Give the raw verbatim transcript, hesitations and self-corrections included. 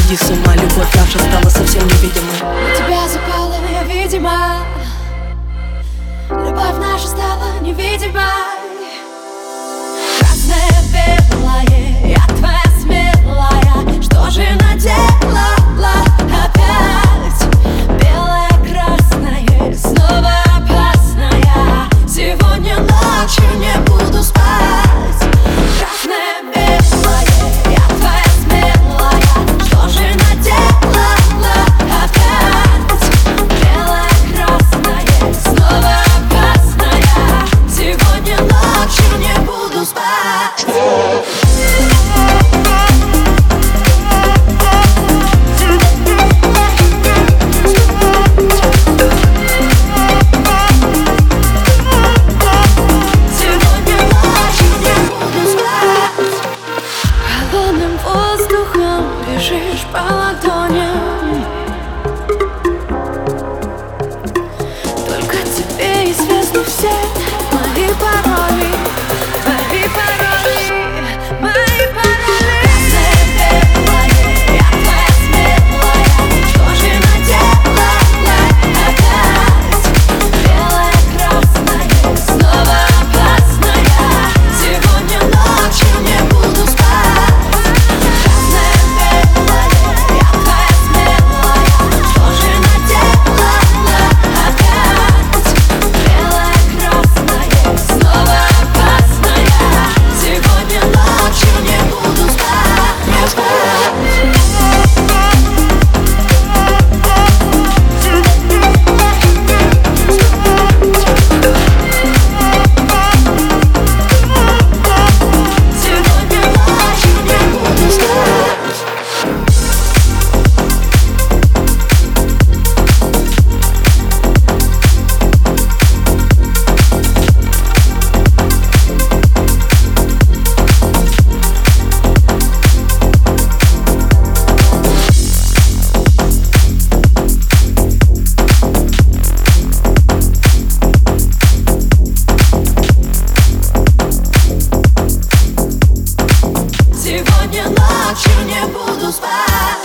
сойди с ума, любовь наша стала совсем невидимой. На тебя запала я, видимо, любовь наша стала невидимой. Красное, белое, я твоя смелая, что же наделала опять? Белое, красное, снова опасная. Сегодня ночью не буду спать. Красное, белое, я твоя смелая, что же наделала опять? Белое, красное, снова опасная. Сегодня ночью не буду спать. Бежишь по ладоням, только тебе известны все мои пароли, мои пароли, мои пароли. Красное, белое, я твоя смелая, что же наделала опять? Белое, красное, снова опасная. Сегодня ночью не буду спать. Сегодня ночью не буду спать.